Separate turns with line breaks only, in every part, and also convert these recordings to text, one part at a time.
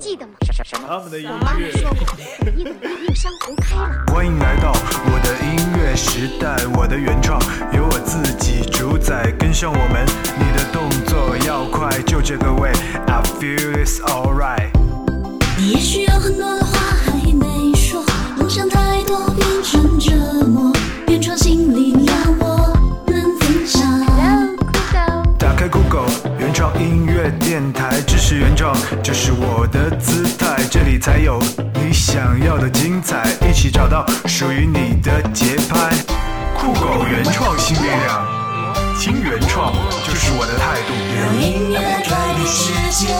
记得吗？
他们的音
我妈
乐。
说过，你等一山湖开了。
欢迎来到我的音乐时代，我的原创由我自己主宰，跟上我们，你的动作要快，就这个味 I feel it's alright。
你也许有很多的话还没说，梦想太多变成折磨，原创新力量我能分享。
打开 Google 原创音乐电台，支持原创就是我的姿态，这里才有你想要的精彩，一起找到属于你的节拍。酷狗原创新力量，听原创就是我的态度。
让音乐改变世界。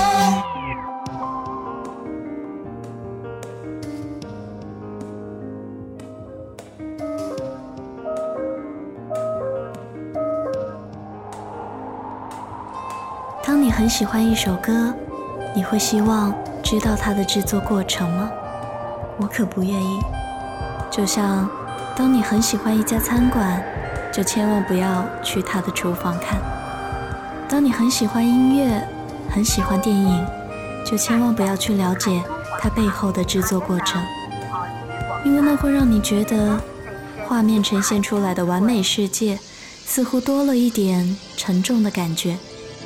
当你很喜欢一首歌，你会希望知道它的制作过程吗？我可不愿意。就像当你很喜欢一家餐馆，就千万不要去它的厨房看；当你很喜欢音乐，很喜欢电影，就千万不要去了解它背后的制作过程，因为那会让你觉得画面呈现出来的完美世界似乎多了一点沉重的感觉。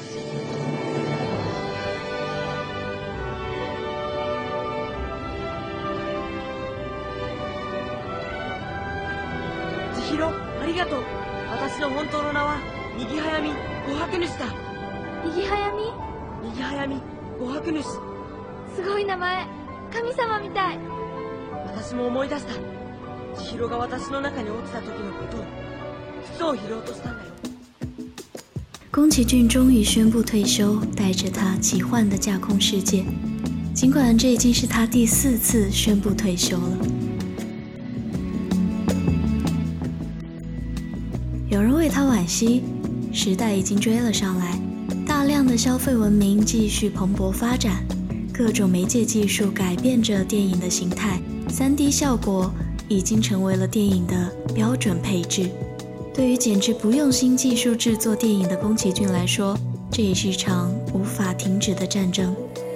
千尋、ありがとう。私の本当の名は右早見琥珀主だ。
右早見、
右早見琥珀主。
すごい名前。神様みたい。
私も思い出した。千尋が私の中に落ちた時のことを、靴を拾おうとしたんだよ。
宫崎骏终于宣布退休，带着他奇幻的架空世界。尽管这已经是他第4次宣布退休了。有人为他惋惜，时代已经追了上来，大量的消费文明继续蓬勃发展，各种媒介技术改变着电影的形态， 3D 效果已经成为了电影的标准配置。对于简直不用新技术制作电影的宫崎骏来说，这也是一场无法停止的战争。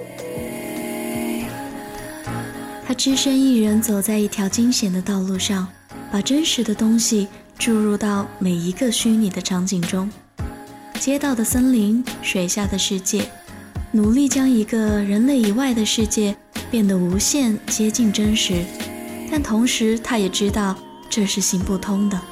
他只身一人走在一条惊险的道路上，把真实的东西注入到每一个虚拟的场景中，街道的森林，水下的世界，努力将一个人类以外的世界变得无限接近真实，但同时他也知道这是行不通的。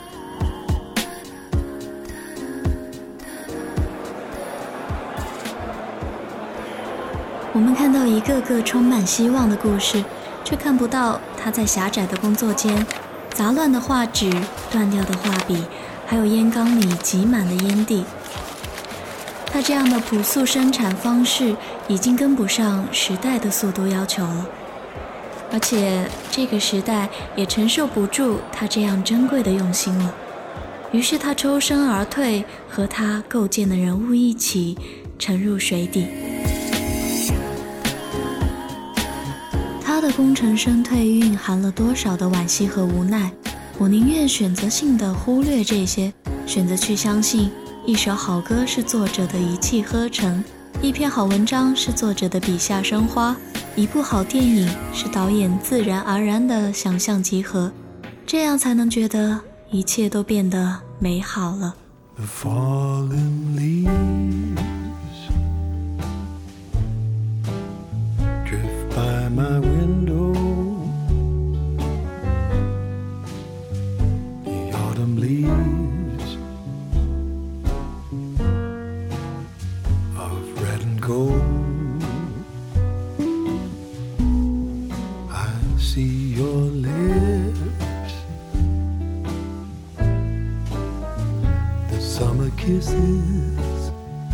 我们看到一个个充满希望的故事，却看不到他在狭窄的工作间，杂乱的画纸，断掉的画笔，还有烟缸里挤满的烟蒂。他这样的朴素生产方式已经跟不上时代的速度要求了，而且这个时代也承受不住他这样珍贵的用心了。于是他抽身而退，和他构建的人物一起沉入水底。他的功成身退蕴含了多少的惋惜和无奈，我宁愿选择性的忽略这些，选择去相信一首好歌是作者的一气呵成，一篇好文章是作者的笔下生花，一部好电影是导演自然而然的想象集合，这样才能觉得一切都变得美好了。
The fallen leaves drift by my window. The autumn leaves of red and gold. I see your lips, the summer kisses,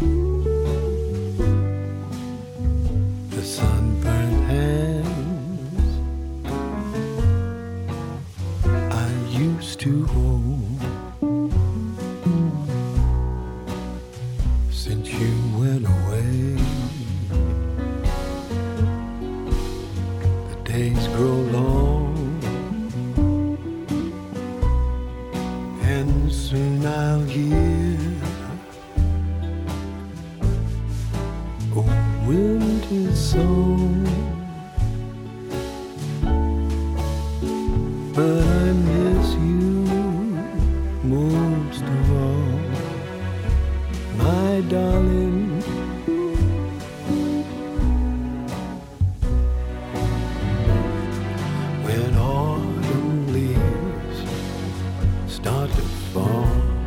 the sunburned hands I used to hold. Since you went away, the days grow long, and soon I'll hear old winter song
darling. When autumn leaves start to fall,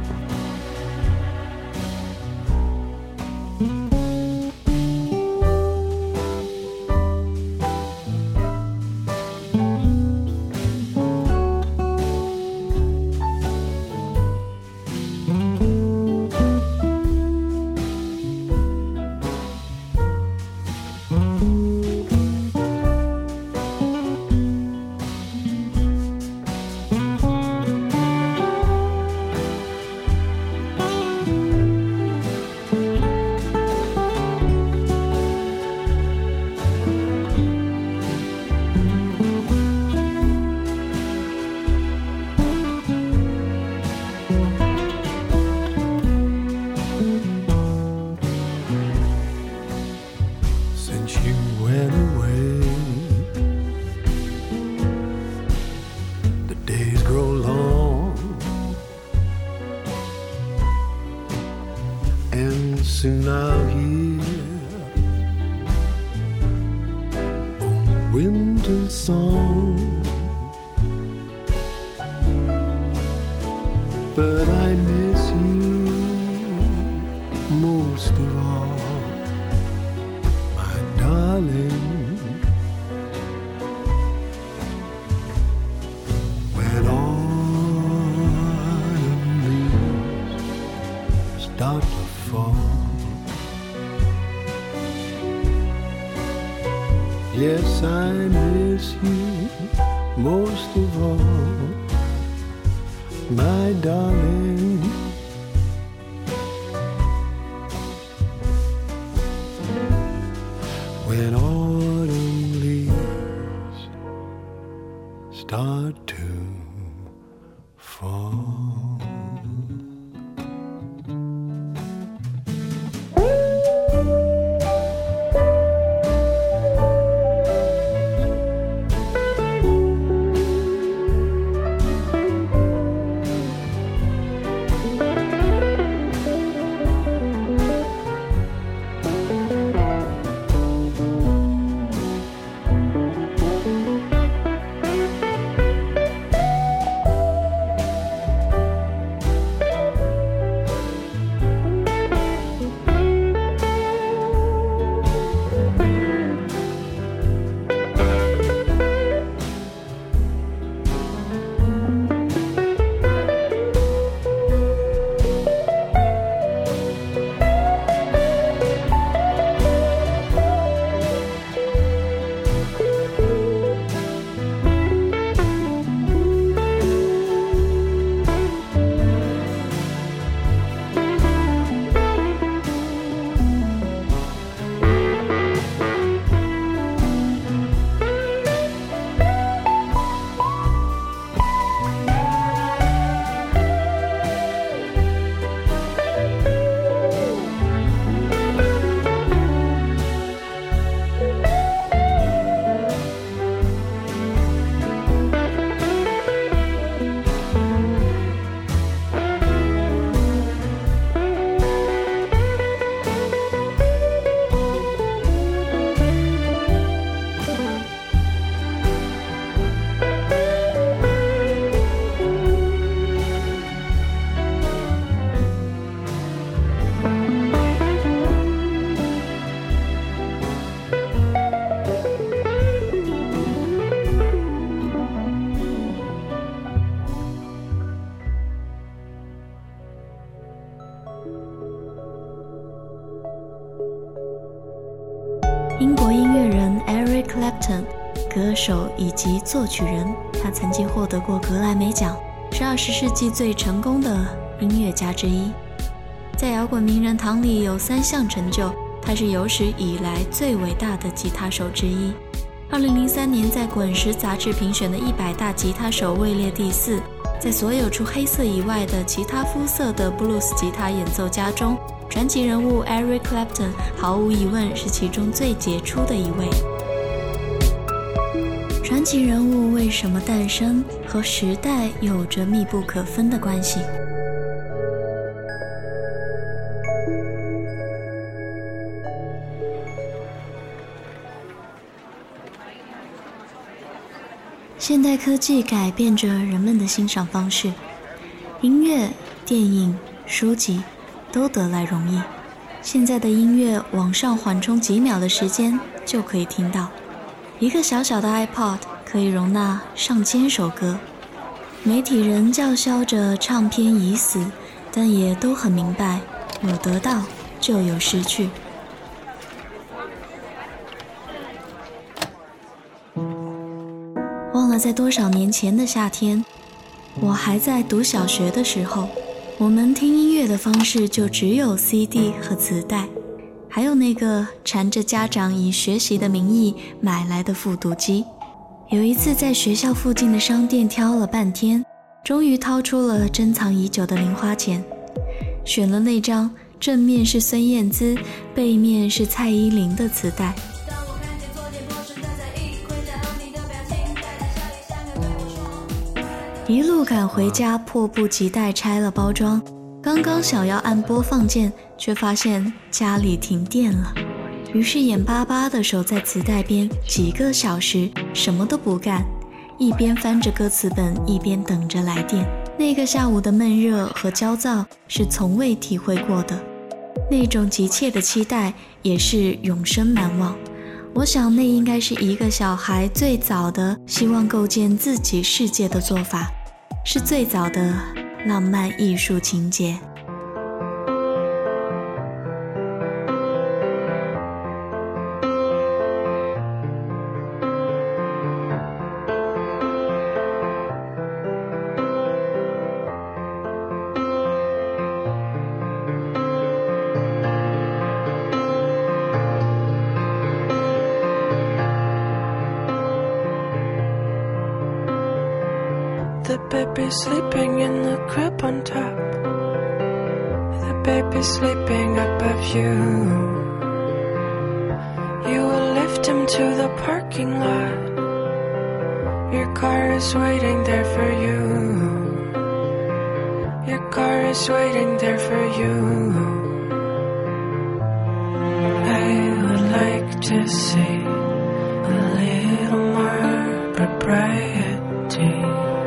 soon I'll hear a winter song, but I miss you most of all, my darling. When autumn leaves start to fall, yes, I miss you most of all, my darling. When autumn leaves start to fall.
英国音乐人 Eric Clapton， 歌手以及作曲人，他曾经获得过格莱美奖，是20世纪最成功的音乐家之一。在摇滚名人堂里有3项成就，他是有史以来最伟大的吉他手之一。2003年在滚石杂志评选的100大吉他手位列第4，在所有除黑色以外的其他肤色的布鲁斯吉他演奏家中，传奇人物 Eric Clapton 毫无疑问是其中最杰出的一位。传奇人物为什么诞生，和时代有着密不可分的关系。 现代科技改变着人们的欣赏方式，音乐、电影、书籍都得来容易。现在的音乐往上缓冲几秒的时间就可以听到，一个小小的 iPod 可以容纳上千首歌。媒体人叫嚣着唱片已死，但也都很明白，有得到就有失去。忘了在多少年前的夏天，我还在读小学的时候，我们听音乐的方式就只有 CD 和磁带，还有那个缠着家长以学习的名义买来的复读机。有一次在学校附近的商店挑了半天，终于掏出了珍藏已久的零花钱，选了那张正面是孙燕姿，背面是蔡依林的磁带。一路赶回家，迫不及待拆了包装，刚刚想要按播放键，却发现家里停电了，于是眼巴巴地守在磁带边几个小时，什么都不干，一边翻着歌词本，一边等着来电。那个下午的闷热和焦躁是从未体会过的，那种急切的期待也是永生难忘。我想那应该是一个小孩最早的希望构建自己世界的做法，是最早的浪漫艺术情节。
The baby sleeping in the crib on top. The baby sleeping above you. You will lift him to the parking lot. Your car is waiting there for you. Your car is waiting there for you. I would like to see a little more propriety.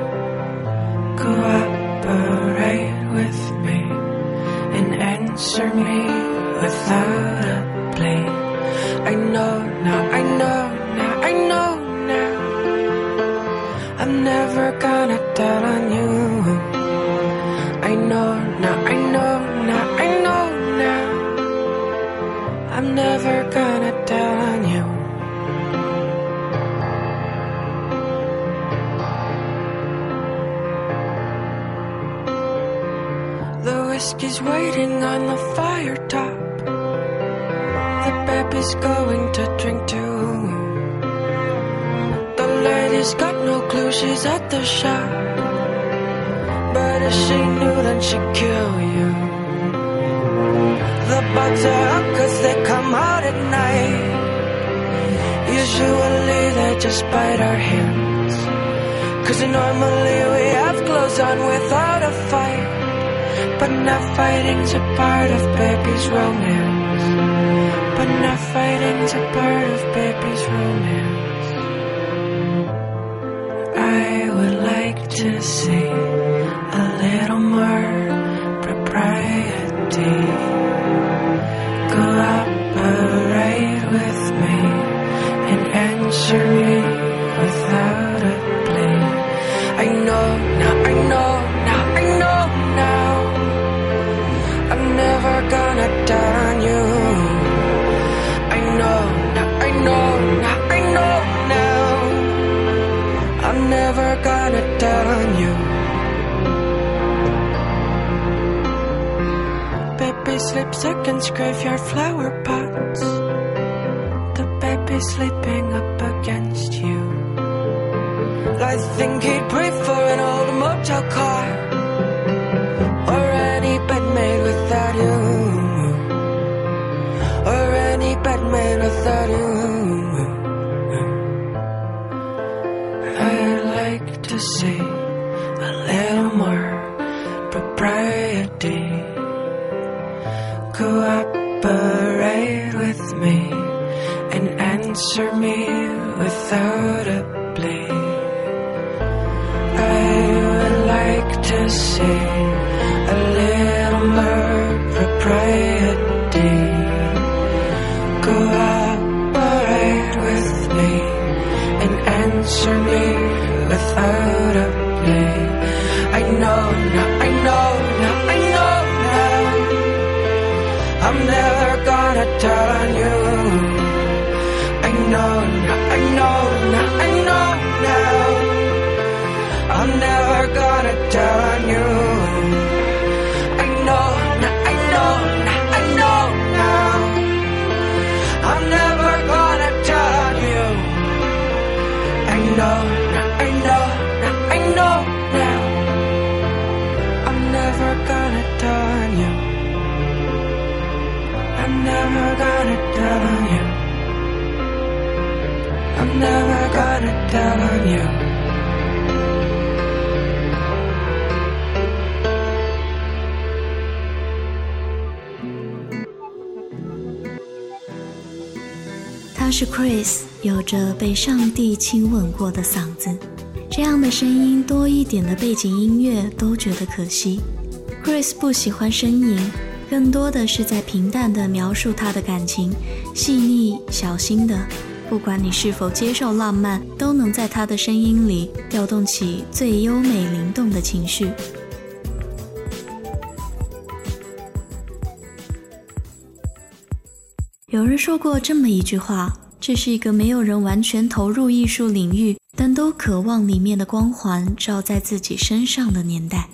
Cooperate with me and answer me without a plea. I know now, I know now, I know now, I'm never gonna doubt on you. I know now, I know now, I know now, I'm never gonna doubt on you. Whiskey's waiting on the fire top. The baby's going to drink too. The lady's got no clue she's at the shop, but if she knew then she'd kill you. The bugs are up 'cause they come out at night. Usually they just bite our hands, 'cause normally we have clothes on without a fight. But not fighting's a part of baby's romance. But not fighting's a part of baby's romance. I would like to see a little more propriety. Cooperate with me and answer me without a plea. I know now, I know now, I know now, I'm never gonna doubt on you. I know now, I know now, I know now, I'm never gonna doubt on you. Baby sleeps against graveyard flower pots. The baby sleeping up against you. I think he'd prefer an old motel car, or any bed made without you, or any bed made without you. I'd like to see a little more propriety. Cooperate with me and answer me without a plea. answer me without a plea. I know now, I know now, I know now. I'm never gonna tell on you. I know now, I know now, I know now. I'm never gonna tell on you. I know now, I know now, I know now. I'm never gonna tell on you. I know now, I know now, I know now. I'm never gonna tell on you. I'm never gonna tell on you. I'm never gonna tell on you.
他是 Chris， 有着被上帝亲吻过的嗓子，这样的声音多一点的背景音乐都觉得可惜。Chris 不喜欢呻吟，更多的是在平淡地描述他的感情，细腻小心的，不管你是否接受浪漫，都能在他的声音里调动起最优美灵动的情绪。有人说过这么一句话，这是一个没有人完全投入艺术领域，但都渴望里面的光环照在自己身上的年代。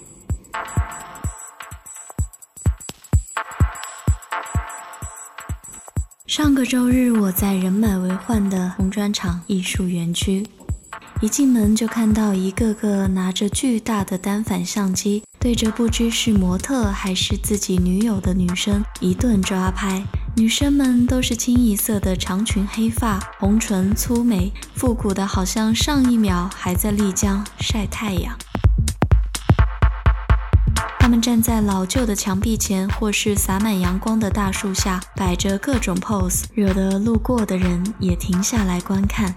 上个周日，我在人满为患的红砖厂艺术园区，一进门就看到一个个拿着巨大的单反相机，对着不知是模特还是自己女友的女生一顿抓拍。女生们都是清一色的长裙黑发，红唇粗眉，复古的好像上一秒还在丽江晒太阳。他们站在老旧的墙壁前，或是洒满阳光的大树下，摆着各种 pose， 惹得路过的人也停下来观看。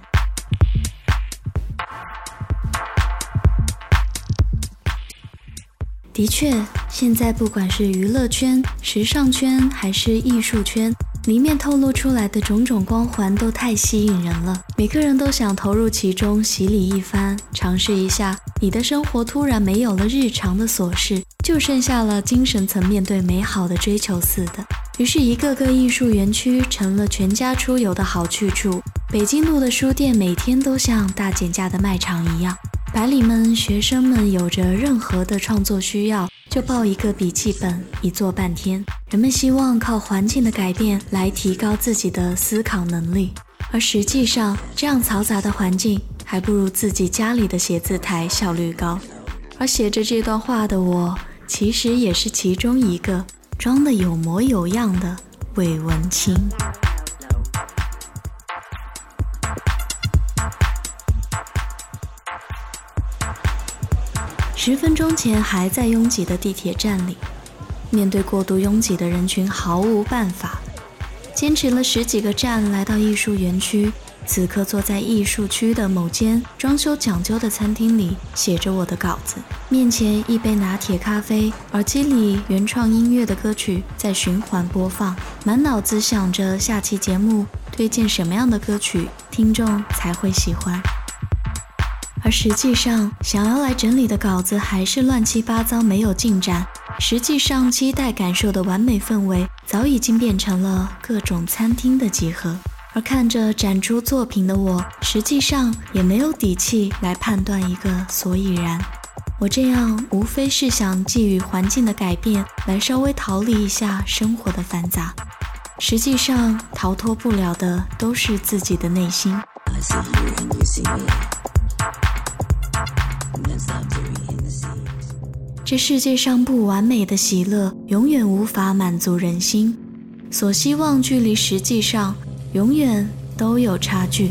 的确，现在不管是娱乐圈、时尚圈还是艺术圈，里面透露出来的种种光环都太吸引人了，每个人都想投入其中，洗礼一番，尝试一下你的生活突然没有了日常的琐事，就剩下了精神层面对美好的追求似的。于是一个个艺术园区成了全家出游的好去处，北京路的书店每天都像大减价的卖场一样，白领们、学生们有着任何的创作需要，就抱一个笔记本一坐半天。人们希望靠环境的改变来提高自己的思考能力，而实际上这样嘈杂的环境还不如自己家里的写字台效率高。而写着这段话的我，其实也是其中一个装得有模有样的伪文青。10分钟前还在拥挤的地铁站里，面对过度拥挤的人群毫无办法，坚持了10几个站来到艺术园区，此刻坐在艺术区的某间装修讲究的餐厅里，写着我的稿子，面前一杯拿铁咖啡，耳机里原创音乐的歌曲在循环播放，满脑子想着下期节目推荐什么样的歌曲听众才会喜欢。而实际上想要来整理的稿子还是乱七八糟没有进展，实际上期待感受的完美氛围早已经变成了各种餐厅的集合。而看着展出作品的我，实际上也没有底气来判断一个所以然。我这样无非是想寄予环境的改变来稍微逃离一下生活的繁杂，实际上逃脱不了的都是自己的内心。这世界上不完美的喜乐永远无法满足人心，所希望距离实际上永远都有差距。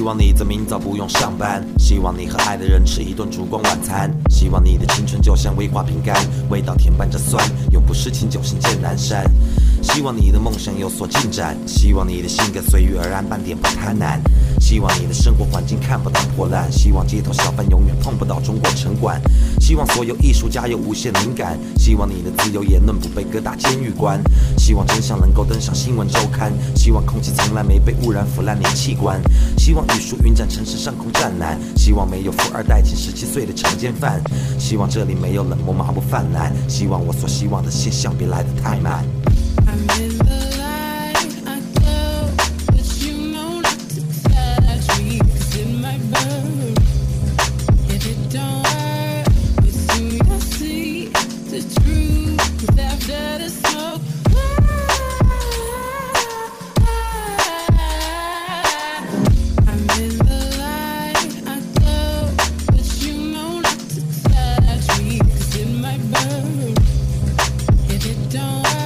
望你在明早不用上班，希望你和爱的人吃一顿烛光晚餐，希望你的青春就像威化饼干，味道甜伴着酸，永不失情，久行见南山。希望你的梦想有所进展，希望你的性格随遇而安，半点不贪婪，希望你的生活环境看不到破烂，希望街头小贩永远碰不到中国城管，希望所有艺术家有无限灵感，希望你的自由言论不被各大监狱关，希望真相能够登上新闻周刊，希望空气从来没被污染腐烂你器官，希望语数云展城市上空湛蓝，希望没有富二代请17岁的强奸犯，希望这里没有冷漠麻木泛滥，希望我所希望的现象别来得太慢。
I'm in the light, I glow, but you know not to touch me, 'cause it might burn. If it don't hurt, but soon you'll see the truth after the smoke. I'm in the light, I glow, but you know not to touch me, 'cause it might burn. If it don't hurt,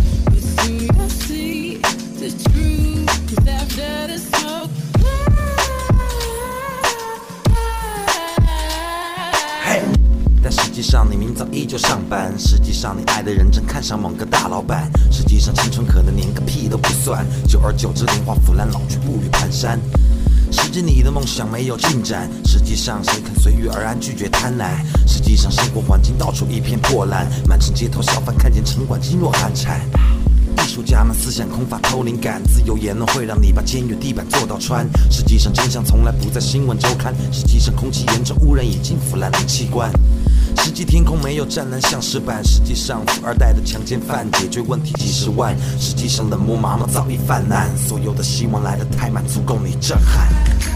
但实际上你明早依旧上班，实际上你爱的人正看上某个大老板，实际上青春可能连个屁都不算，久而久之年华腐烂，老去步履蹒跚。实际你的梦想没有进展，实际上谁肯随遇而安，拒绝贪婪，实际上生活环境到处一片破烂，满城街头小贩看见城管噤若寒蝉。艺术家们思想空乏偷灵感，自由言论会让你把监狱地板做到穿，实际上真相从来不在新闻周刊，实际上空气严重污染已经腐烂的器官，实际天空没有湛蓝像石板，实际上富二代的强奸犯解决问题几十万，实际上冷漠麻木早已泛滥，所有的希望来得太慢，足够你震撼。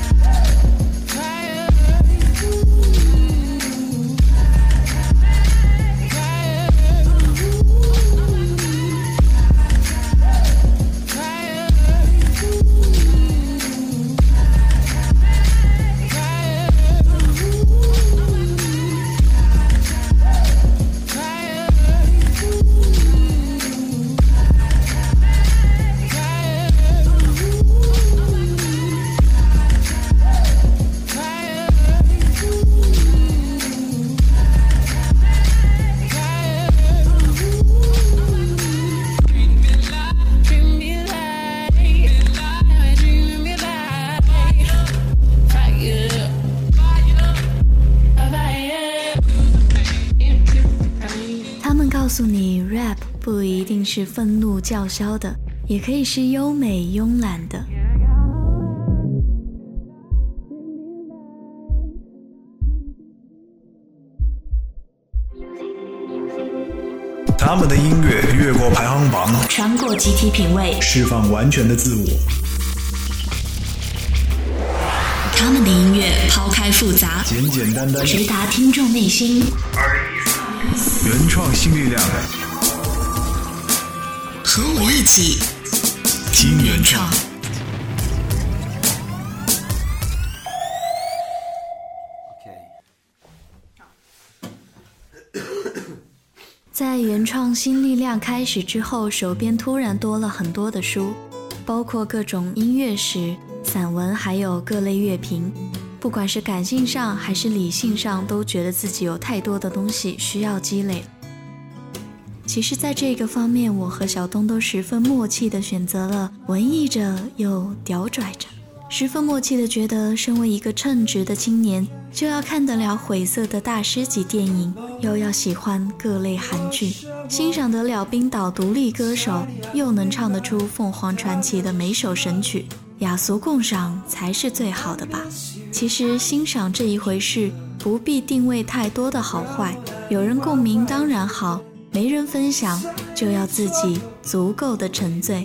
告诉你 rap 不一定是愤怒叫嚣的，也可以是优美慵懒的。
他们的音乐越过排行榜，
穿过集体品味，
释放完全的自我。
他们的音乐抛开复杂，
简简单单，
直达听众内心。
原创新力量，
和我一起
听原创。
在原创新力量开始之后，手边突然多了很多的书，包括各种音乐史、散文，还有各类乐评。不管是感性上还是理性上，都觉得自己有太多的东西需要积累。其实在这个方面，我和小东都十分默契地选择了文艺着又屌拽着，十分默契地觉得身为一个称职的青年，就要看得了晦涩的大师级电影，又要喜欢各类韩剧，欣赏得了冰岛独立歌手，又能唱得出凤凰传奇的每首神曲，雅俗共赏才是最好的吧。其实欣赏这一回事，不必定位太多的好坏，有人共鸣当然好，没人分享就要自己足够的沉醉。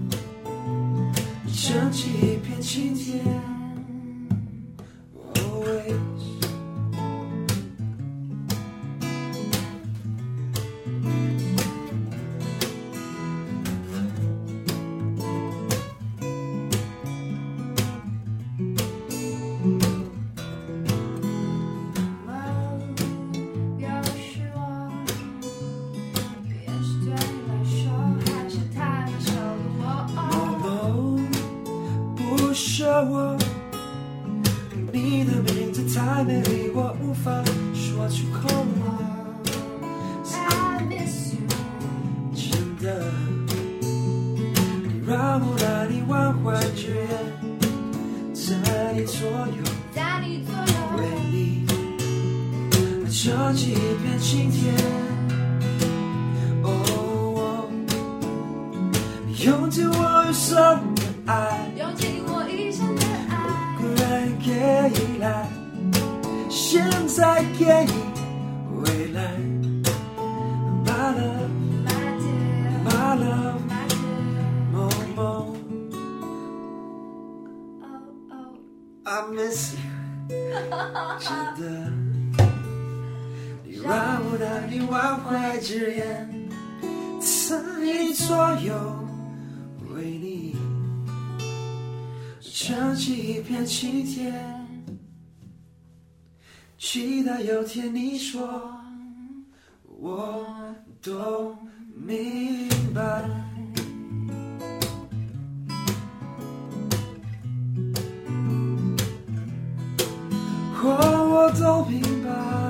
想起一片晴天我太美丽，我无法说出口。
I miss you。
真的，你让我难以忘怀之夜，在你左右，
在你左右，
为你撑起一片晴天。哦，你用尽我余生的爱，
用尽我一生的爱，
不然给依赖，现在给你未来。My love,
my dear，
my love,
my dear，
梦梦
oh oh，
I miss you， 真的，你让我难以忘怀之夜，在你左右，为你撑起一片晴天，期待有天你说，我都明白。我都明白，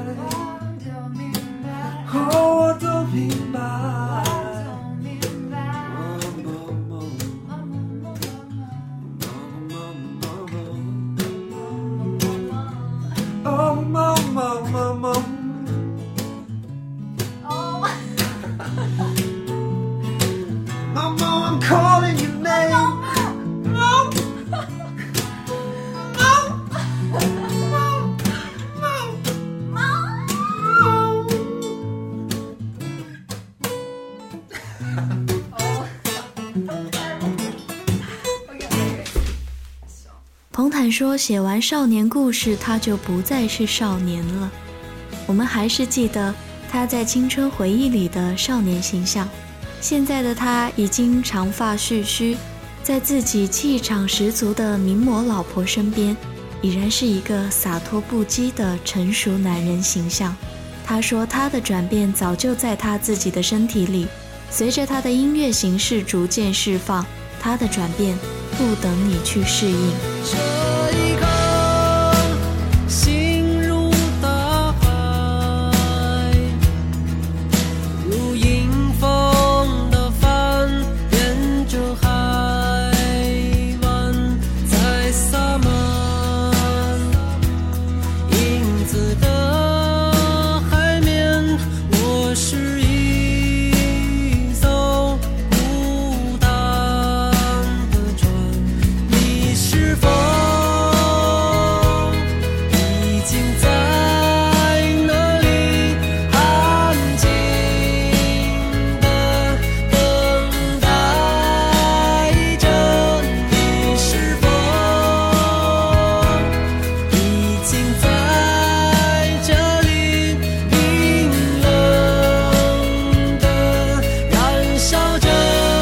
我都明白，哦，梦梦梦梦。Mama, I'm calling your name.
OK，
彭坦说，写完少年故事，他就不再是少年了。我们还是记得他在青春回忆里的少年形象。现在的他已经长发蓄须，在自己气场十足的名模老婆身边，已然是一个洒脱不羁的成熟男人形象。他说他的转变早就在他自己的身体里，随着他的音乐形式逐渐释放，他的转变不等你去适应。
这一刻心如大海，如迎风的帆，沿着海湾在洒满影子的海面，我是一艘孤单的船，你是否已经在那里安静地等待着？你是否已经在这里冰冷地燃烧着？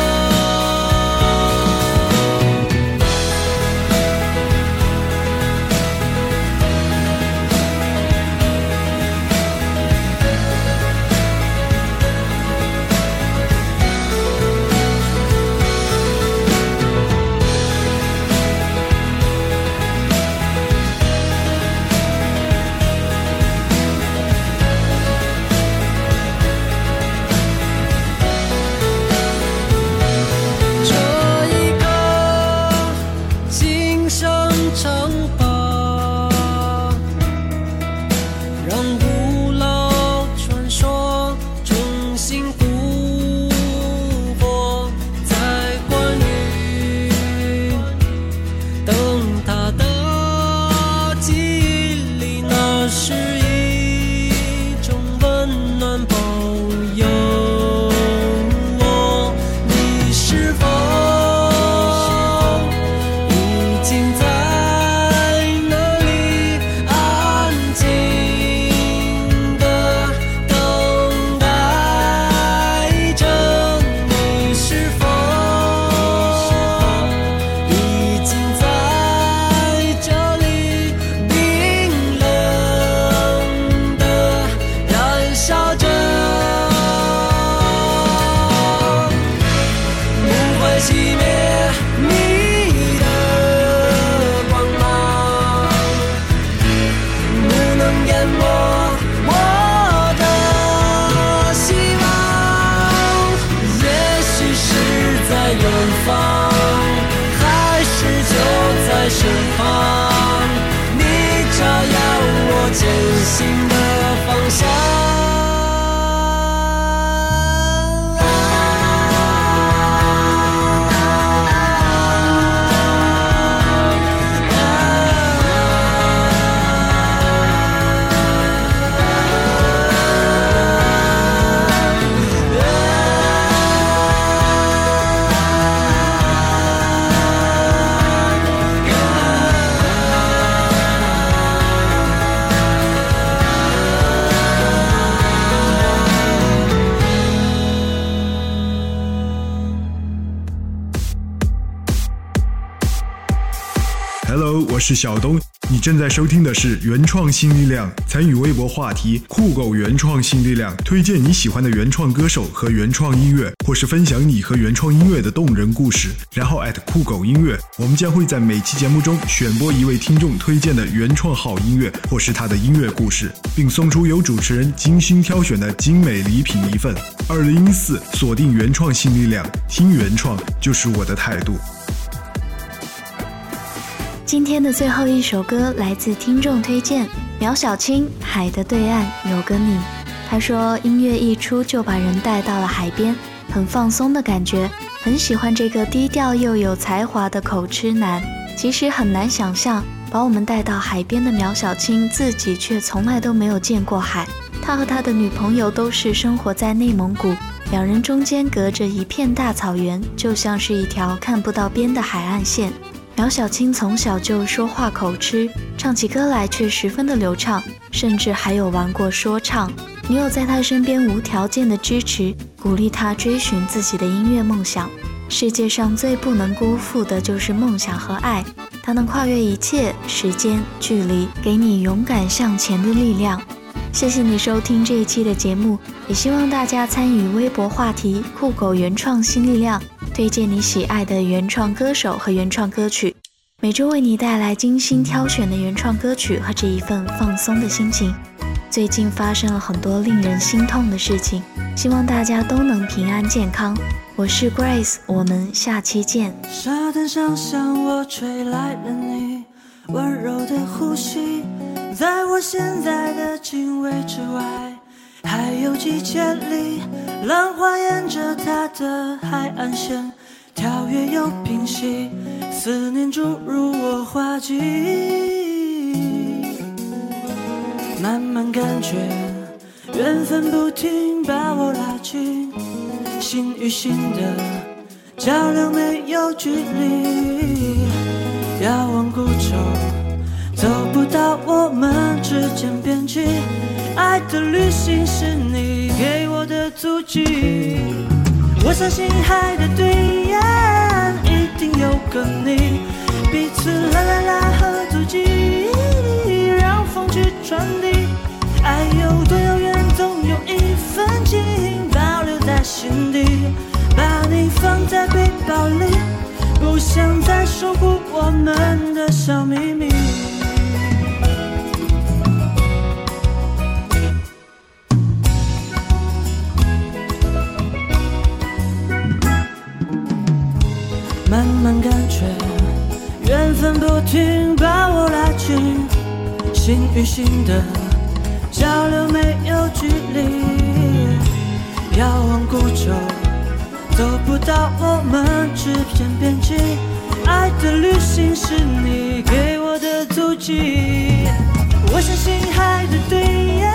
这一刻，今生城堡，让古老传说重新复活，在关于灯塔的记忆里，那是一种温暖保佑。你是否已经在那里安静地等待着？你是否已经在这里冰冷
是小东，你正在收听的是原创新力量。参与微博话题酷狗原创新力量，推荐你喜欢的原创歌手和原创音乐，或是分享你和原创音乐的动人故事，然后酷狗音乐，我们将会在每期节目中选播一位听众推荐的原创好音乐或是他的音乐故事，并送出由主持人精心挑选的精美礼品一份。2014锁定原创新力量，听原创就是我的态度。
今天的最后一首歌来自听众推荐，苗小青，海的对岸有个你。他说音乐一出就把人带到了海边，很放松的感觉，很喜欢这个低调又有才华的口吃男。其实很难想象把我们带到海边的苗小青自己却从来都没有见过海。他和他的女朋友都是生活在内蒙古，两人中间隔着一片大草原，就像是一条看不到边的海岸线。苗小青从小就说话口吃，唱起歌来却十分的流畅，甚至还有玩过说唱。女友在她身边无条件的支持，鼓励她追寻自己的音乐梦想。世界上最不能辜负的就是梦想和爱，它能跨越一切时间距离，给你勇敢向前的力量。谢谢你收听这一期的节目，也希望大家参与微博话题酷狗原创新力量，推荐你喜爱的原创歌手和原创歌曲，每周为你带来精心挑选的原创歌曲和这一份放松的心情。最近发生了很多令人心痛的事情，希望大家都能平安健康。我是 Grace， 我们下期见。
沙滩上向我吹来了你温柔的呼吸，在我现在的经纬之外还有几千里，浪花沿着它的海岸线跳跃又平息，思念注入我花季，慢慢感觉缘分不停把我拉近，心与心的交流没有距离，遥望孤舟走不到我们之间边际，爱的旅行是你给我的足迹，我相信海的对岸一定有个你，彼此啦啦啦和足迹，让风去传递，爱有多遥远总有一份情保留在心底，把你放在背包里，不想再守护我们的小秘密。慢慢感觉缘分不停把我拉近，心与心的交流没有距离，遥望孤舟走不到我们之间边际，爱的旅行是你给我的足迹，我相信海的对岸